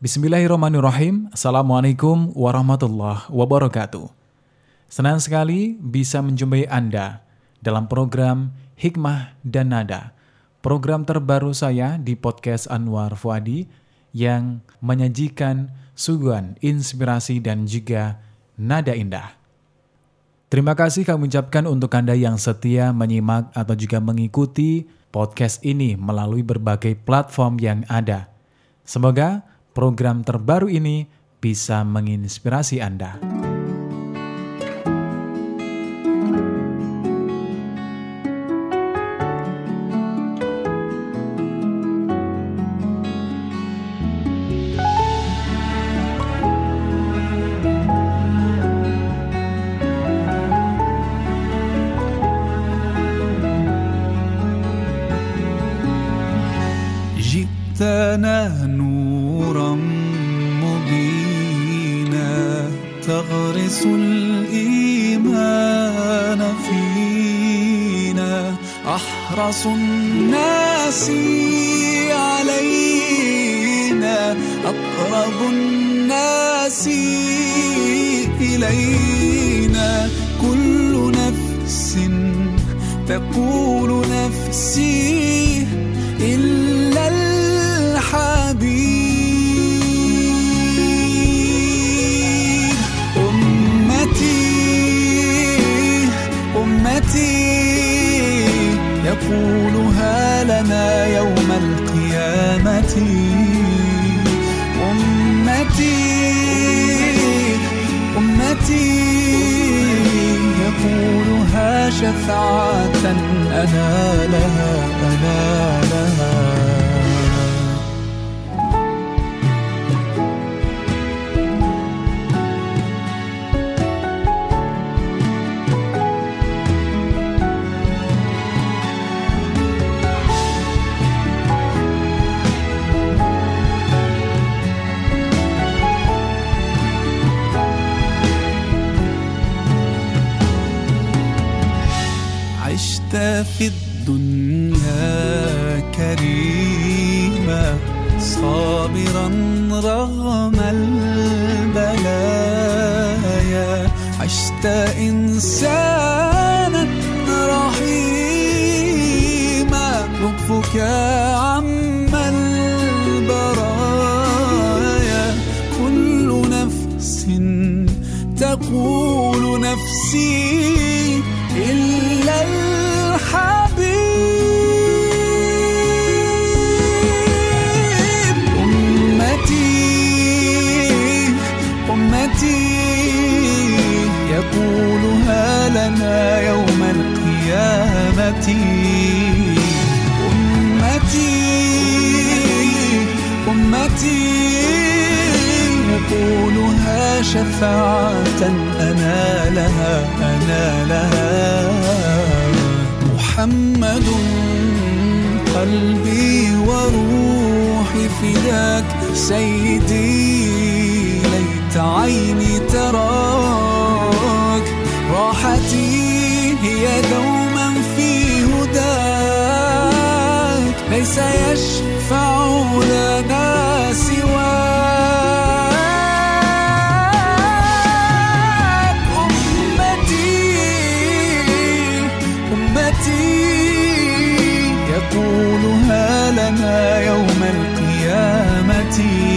Bismillahirrahmanirrahim. Assalamualaikum warahmatullahi wabarakatuh. Senang sekali bisa menjumpai Anda dalam program Hikmah dan Nada, program terbaru saya di podcast Anwar Fuadi yang menyajikan suguhan inspirasi dan juga nada indah. Terima kasih kami ucapkan untuk Anda yang setia menyimak atau juga mengikuti podcast ini melalui berbagai platform yang ada. Semoga program terbaru ini bisa menginspirasi Anda. جئتنا نورا مبينا تغرس الإيمان فينا أحرص الناس علينا أقرب الناس إلينا كل نفس تقول نفسي إلا الحبيب أمتي يقولها لنا يوم القيامة أمتي يقولها شفاعة أنا لها عشت في الدنيا كريما صابرا رغم البلايا عشت إنسانا رحيما لطفك عم البرايا كل نفس تقول نفسي إلا الحبيب أمتي يقولها لنا يوم القيامة أمتي يقولها شفاعة أنا لها محمد قلبي وروحي فداك سيدي ليت عيني تراك راحتي هي دوما في هداك ليس يشفع لنا سواك أمتي يقولها لنا يوم القيامة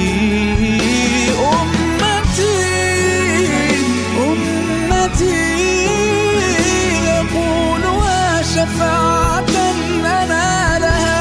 أمتي يقولها شفاعة أنا لها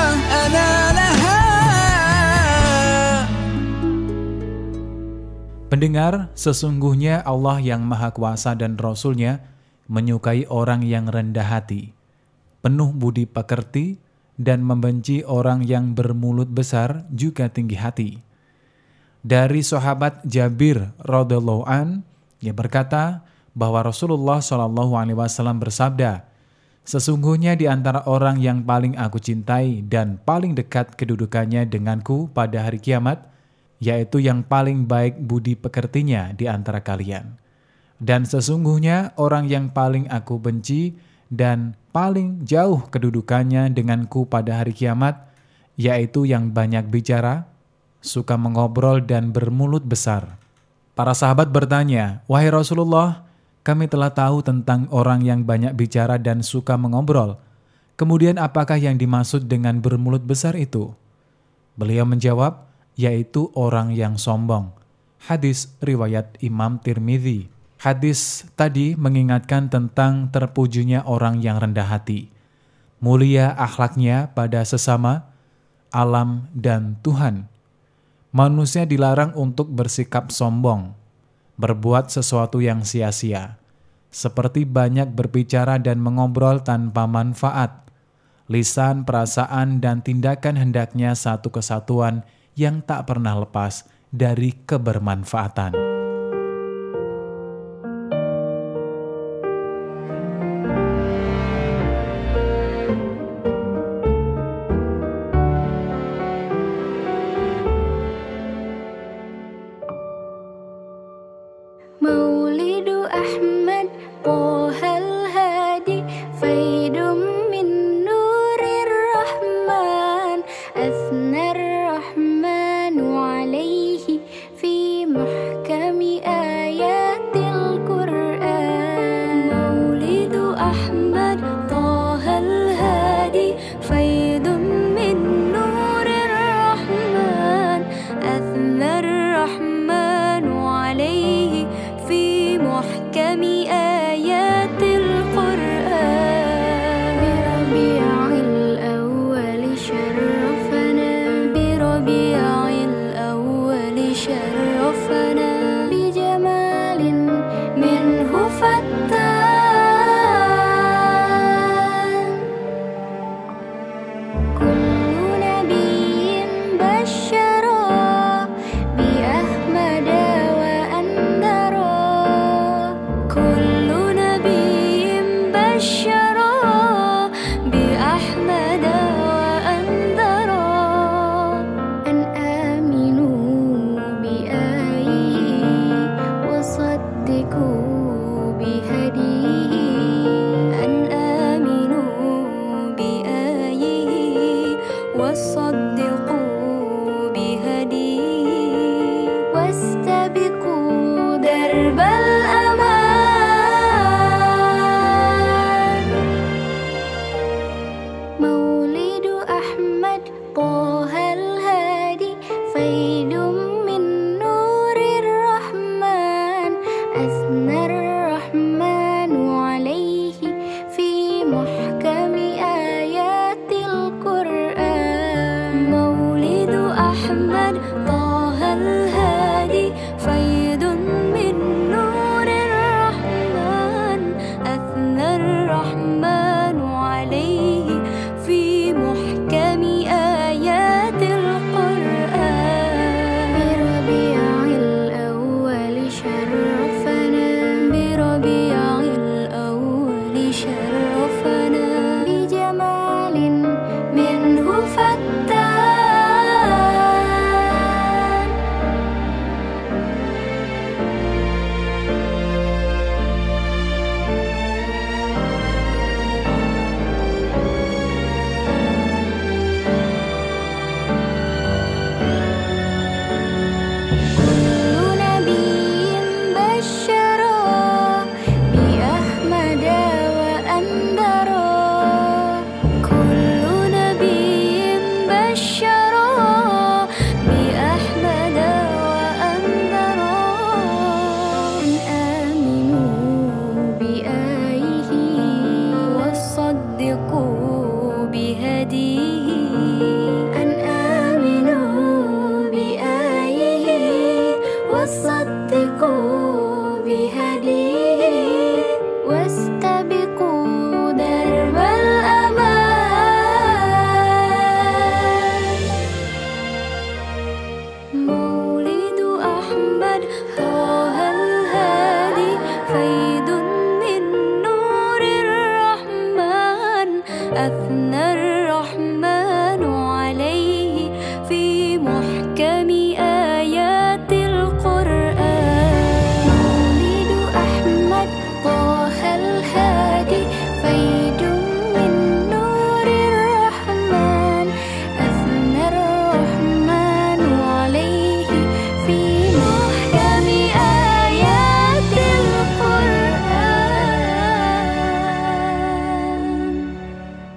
Pendengar, sesungguhnya Allah yang Maha Kuasa dan Rasul-Nya menyukai orang yang rendah hati, penuh budi pekerti, dan membenci orang yang bermulut besar juga tinggi hati. Dari sahabat Jabir radhiyallahu an, ia berkata bahwa Rasulullah SAW bersabda, sesungguhnya di antara orang yang paling aku cintai dan paling dekat kedudukannya denganku pada hari kiamat, yaitu yang paling baik budi pekertinya di antara kalian. Dan sesungguhnya orang yang paling aku benci dan paling jauh kedudukannya denganku pada hari kiamat, yaitu yang banyak bicara, suka mengobrol dan bermulut besar. Para sahabat bertanya, "Wahai Rasulullah, kami telah tahu tentang orang yang banyak bicara dan suka mengobrol. Kemudian apakah yang dimaksud dengan bermulut besar itu?" Beliau menjawab, yaitu orang yang sombong. Hadis riwayat Imam Tirmidzi. Hadis tadi mengingatkan tentang terpujinya orang yang rendah hati, mulia akhlaknya pada sesama, alam, dan Tuhan. Manusia dilarang untuk bersikap sombong, berbuat sesuatu yang sia-sia, seperti banyak berbicara dan mengobrol tanpa manfaat. Lisan, perasaan, dan tindakan hendaknya satu kesatuan yang tak pernah lepas dari kebermanfaatan. Maulidu Ahmad Tohal Hadi Faidum min Nurir Rahman Athnar Rahmanu alaihi Fi muhkami ayatil Qur'an. Maulidu Ahmad Tohal Hadi Faidum min Nurir Rahman Athnar Rahmanu alaihi في محكم آيات القرآن. بربيع الأول شرفنا بربيع الأول شرفنا بجمال منه فتان. كل نبي بشرا بأحمد كل نبي بشرا بأحمد وأنذرا أن آمنوا بآيه وصدقوا بهديه. أن آمنوا بآيه وصدقوا بهديه واستبقوا درب الأمان. مولد أحمد طه الهادي فيد من نور الرحمن أثنى الرحمن عليه في محكم آيات القرآن. مولد أحمد طه الهادي فيد من نور الرحمن أثنى الرحمن عليه في محكم آيات القرآن. بربيع الأول شرفنا بربيع الأول شرفنا بجمال منه فتان. كل نبي بشرا بأحمد وأنذرا كل نبي بشرا بأحمد وأنذرا أن آمنوا بآيه وصدقوا بهديه. أن آمنوا بآيه وصدقوا بهديه واستبقوا درب الأمان. مولد أحمد طه الهادي فيد من نور الرحمن أثنى الرحمن عليه في محكم آيات القرآن. مولد أحمد طه الهادي فيد من نور الرحمن أثنى الرحمن عليه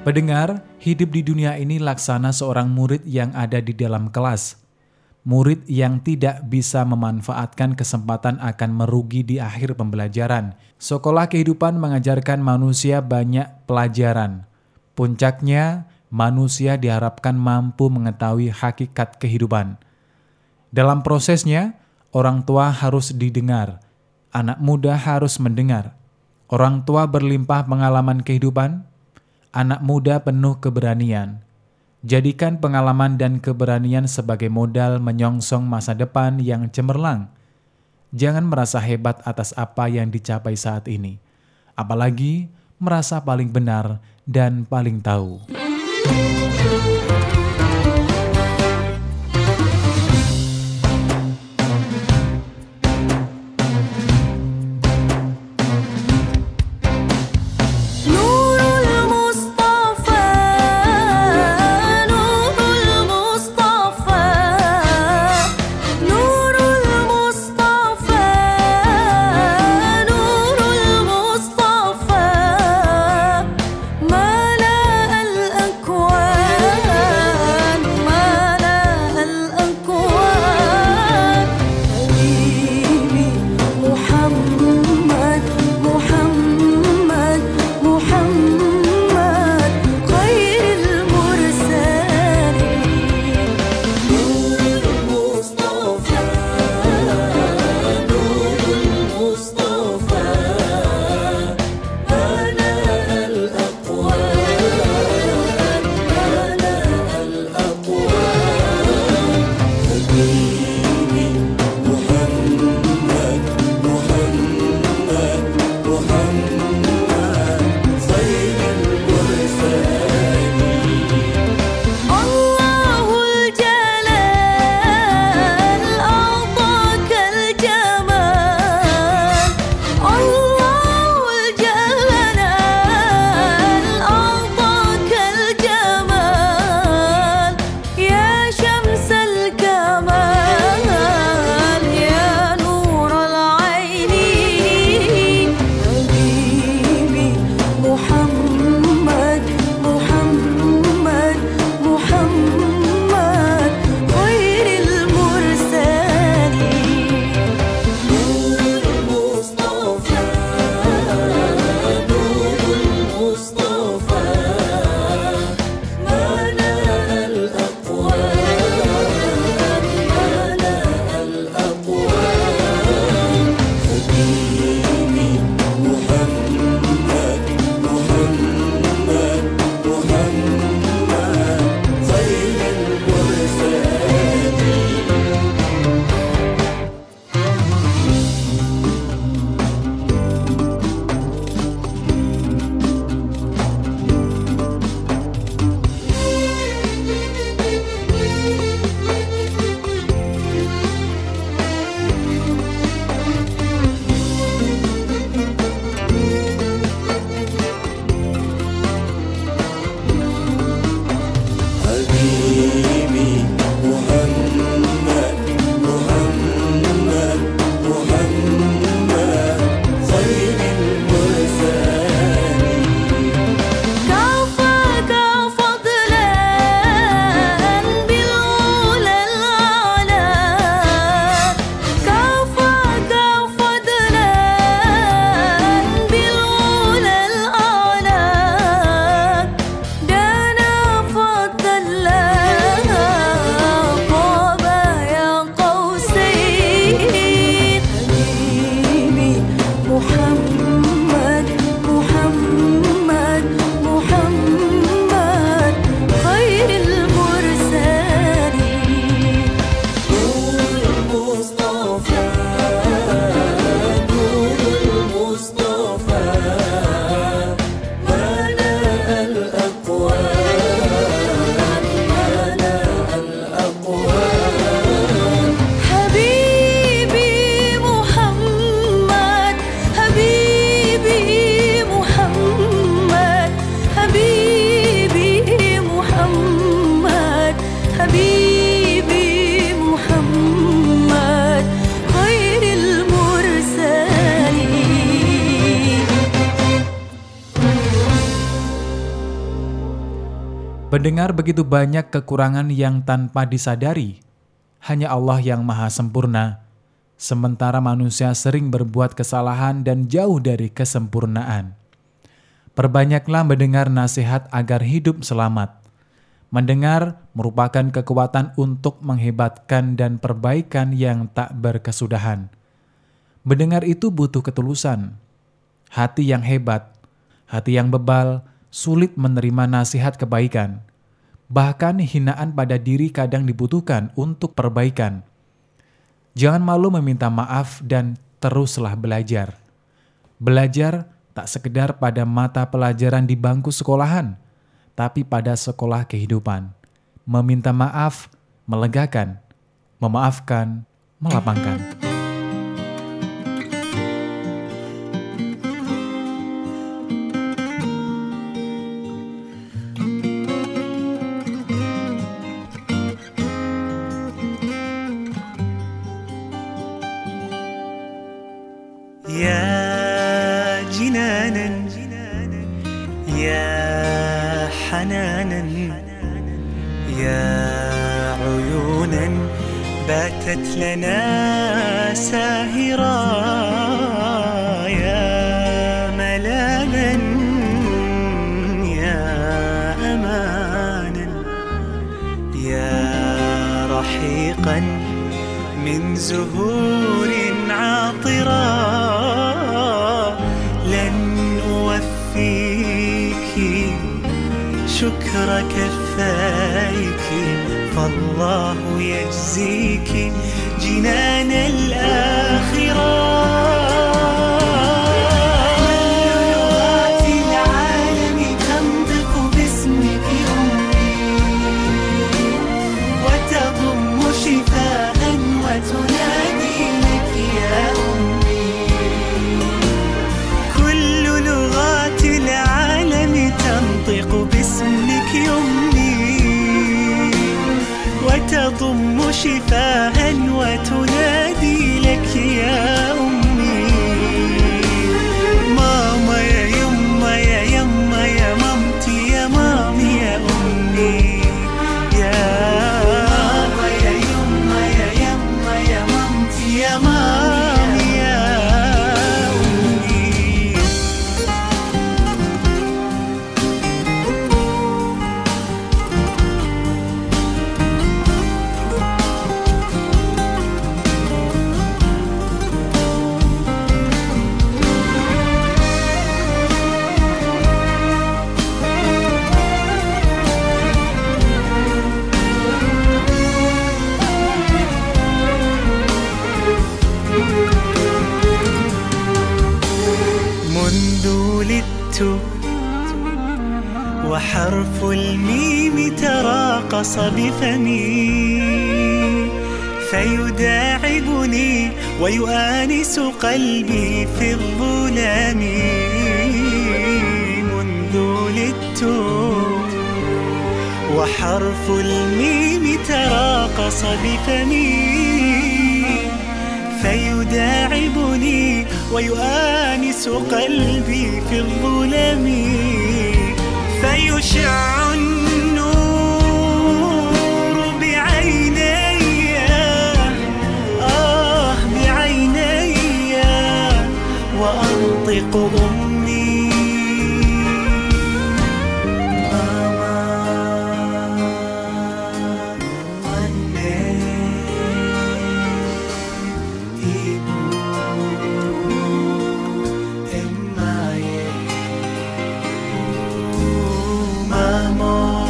Pendengar, hidup di dunia ini laksana seorang murid yang ada di dalam kelas. Murid yang tidak bisa memanfaatkan kesempatan akan merugi di akhir pembelajaran. Sekolah kehidupan mengajarkan manusia banyak pelajaran. Puncaknya, manusia diharapkan mampu mengetahui hakikat kehidupan. Dalam prosesnya, orang tua harus didengar, anak muda harus mendengar. Orang tua berlimpah pengalaman kehidupan, anak muda penuh keberanian. Jadikan pengalaman dan keberanian sebagai modal menyongsong masa depan yang cemerlang. Jangan merasa hebat atas apa yang dicapai saat ini, apalagi merasa paling benar dan paling tahu. Pendengar, begitu banyak kekurangan yang tanpa disadari. Hanya Allah yang maha sempurna, sementara manusia sering berbuat kesalahan dan jauh dari kesempurnaan. Perbanyaklah mendengar nasihat agar hidup selamat. Mendengar merupakan kekuatan untuk menghebatkan dan perbaikan yang tak berkesudahan. Mendengar itu butuh ketulusan. Hati yang hebat, hati yang bebal, sulit menerima nasihat kebaikan. Bahkan hinaan pada diri kadang dibutuhkan untuk perbaikan. Jangan malu meminta maaf dan teruslah belajar. Belajar tak sekedar pada mata pelajaran di bangku sekolahan, tapi pada sekolah kehidupan. Meminta maaf, melegakan. Memaafkan, melapangkan. يا جنانا يا حنانا يا عيونا باتت لنا ساهرا يا ملاذا يا أمانا يا رحيقا من زهور عاطرا لن أوفيك شكر كفايك فالله يجزيك جنان الآخرة. لغات العالم تنطق باسمك أمي وتضم شفاء وتنادي لك يا أمي. كل لغات العالم تنطق باسمك أمي وتضم شفاء وتنادي لك يا أمي. ماما يا يما يا يما يا مامتي يا مامي يا أمي يا ماما يا يما يا يما يا مامتي يا مامي يا أمي. منذ ولدت وحرف الميم تراقص بفمي فيداعبني ويؤانس قلبي في الظلام. منذ ولدت وحرف الميم تراقص بفمي فيداعبني ويؤانس قلبي في الظلم فيشع النور بعيني بعيني وأنطق أمي. Mama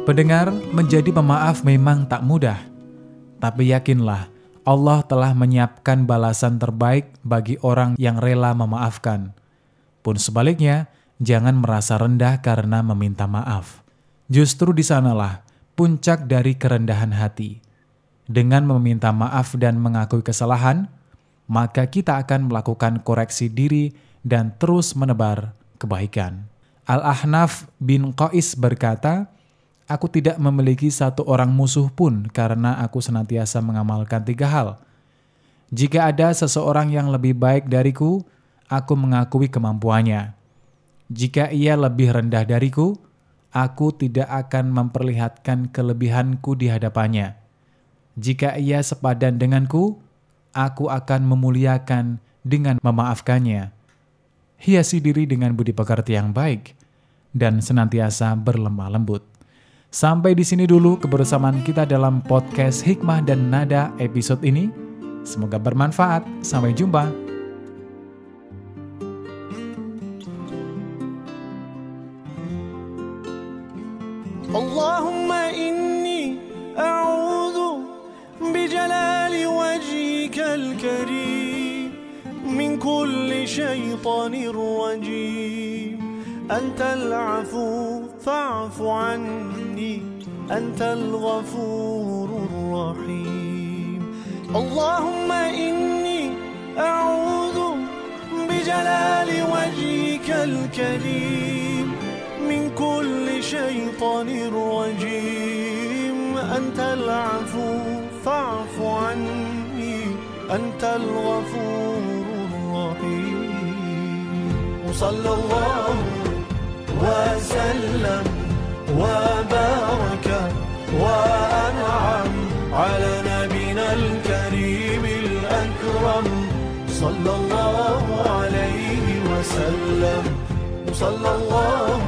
Pendengar, menjadi pemaaf memang tak mudah. Tapi yakinlah, Allah telah menyiapkan balasan terbaik bagi orang yang rela memaafkan. Pun sebaliknya, jangan merasa rendah karena meminta maaf. Justru di sanalah puncak dari kerendahan hati. Dengan meminta maaf dan mengakui kesalahan, maka kita akan melakukan koreksi diri dan terus menebar kebaikan. Al-Ahnaf bin Qais berkata, "Aku tidak memiliki satu orang musuh pun karena aku senantiasa mengamalkan 3 hal. Jika ada seseorang yang lebih baik dariku, aku mengakui kemampuannya. Jika ia lebih rendah dariku, aku tidak akan memperlihatkan kelebihanku di hadapannya. Jika ia sepadan denganku, aku akan memuliakan dengan memaafkannya. Hiasi diri dengan budi pekerti yang baik dan senantiasa berlemah lembut." Sampai di sini dulu kebersamaan kita dalam podcast Hikmah dan Nada episode ini. Semoga bermanfaat. Sampai jumpa. Allahumma inni a'udhu bijalali wajhikal karim min kulli shaytanir rajim. Antal afu fa'fu anni, antal ghafurur rahim. Allahumma inni a'udhu bijalali wajhikal karim من كل شيطان رجيم. أنت العفو فاعف عني، أنت الغفور الرحيم. وصلى الله وسلم وبارك وأنعم على نبينا الكريم الأكرم صلى الله عليه وسلم. وصلى الله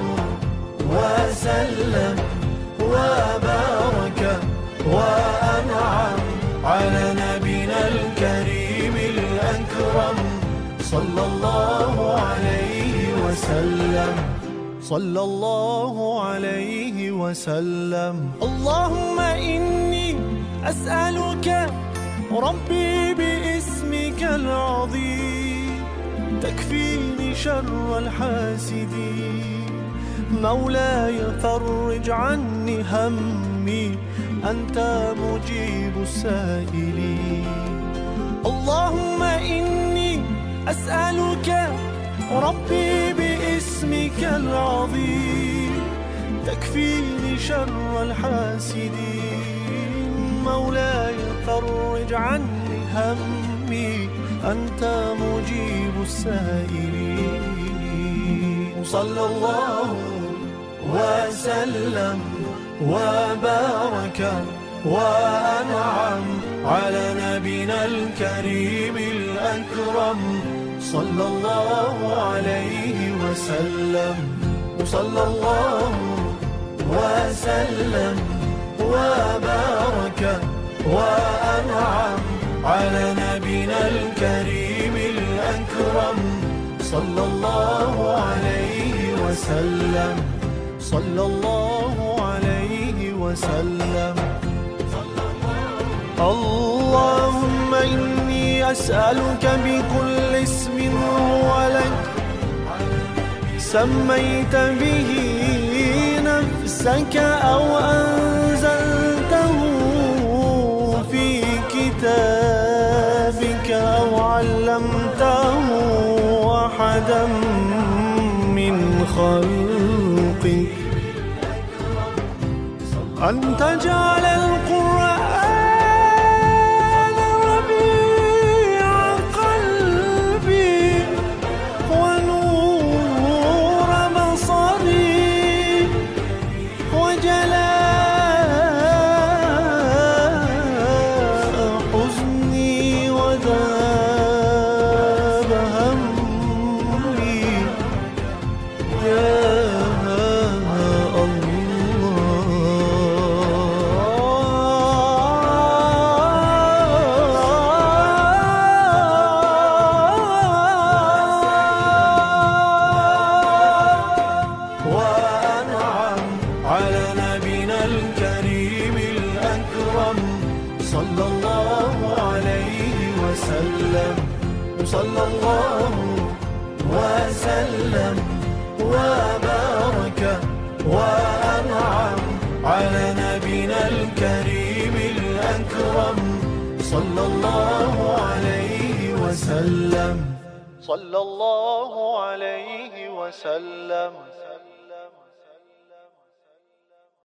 وسلم وبارك وأنعم على نبينا الكريم الأكرم صلى الله عليه وسلم. صلى الله عليه وسلم. اللهم إني أسألك ربي باسمك العظيم تكفيني شر الحاسدين. مولاي فرج عني همي، أنت مجيب السائلين. اللهم إني أسألك ربي باسمك العظيم تكفيني شر الحاسدين. مولاي فرج عني همي، أنت مجيب السائلين. صلى الله وسلم وبارك وأنعم على نبينا الكريم الأكرم صلى الله عليه وسلم. صلى الله وسلم وبارك وأنعم على نبينا الكريم الأكرم صلى الله عليه وسلم. صلى الله عليه وسلم. اللهم إني أسألك بكل اسم هو لك سميت به نفسك أو أنزلته في كتابك أو علمته أحدا من خلقك أن تجعل القرآن ربيع قلبي ونور بصري وجلاء حزني وذاب همي يا الله. وسلم صلى الله وسلم وبارك وأنعم على نبينا الكريم الأكرم صلى الله عليه وسلم صلى الله عليه وسلم.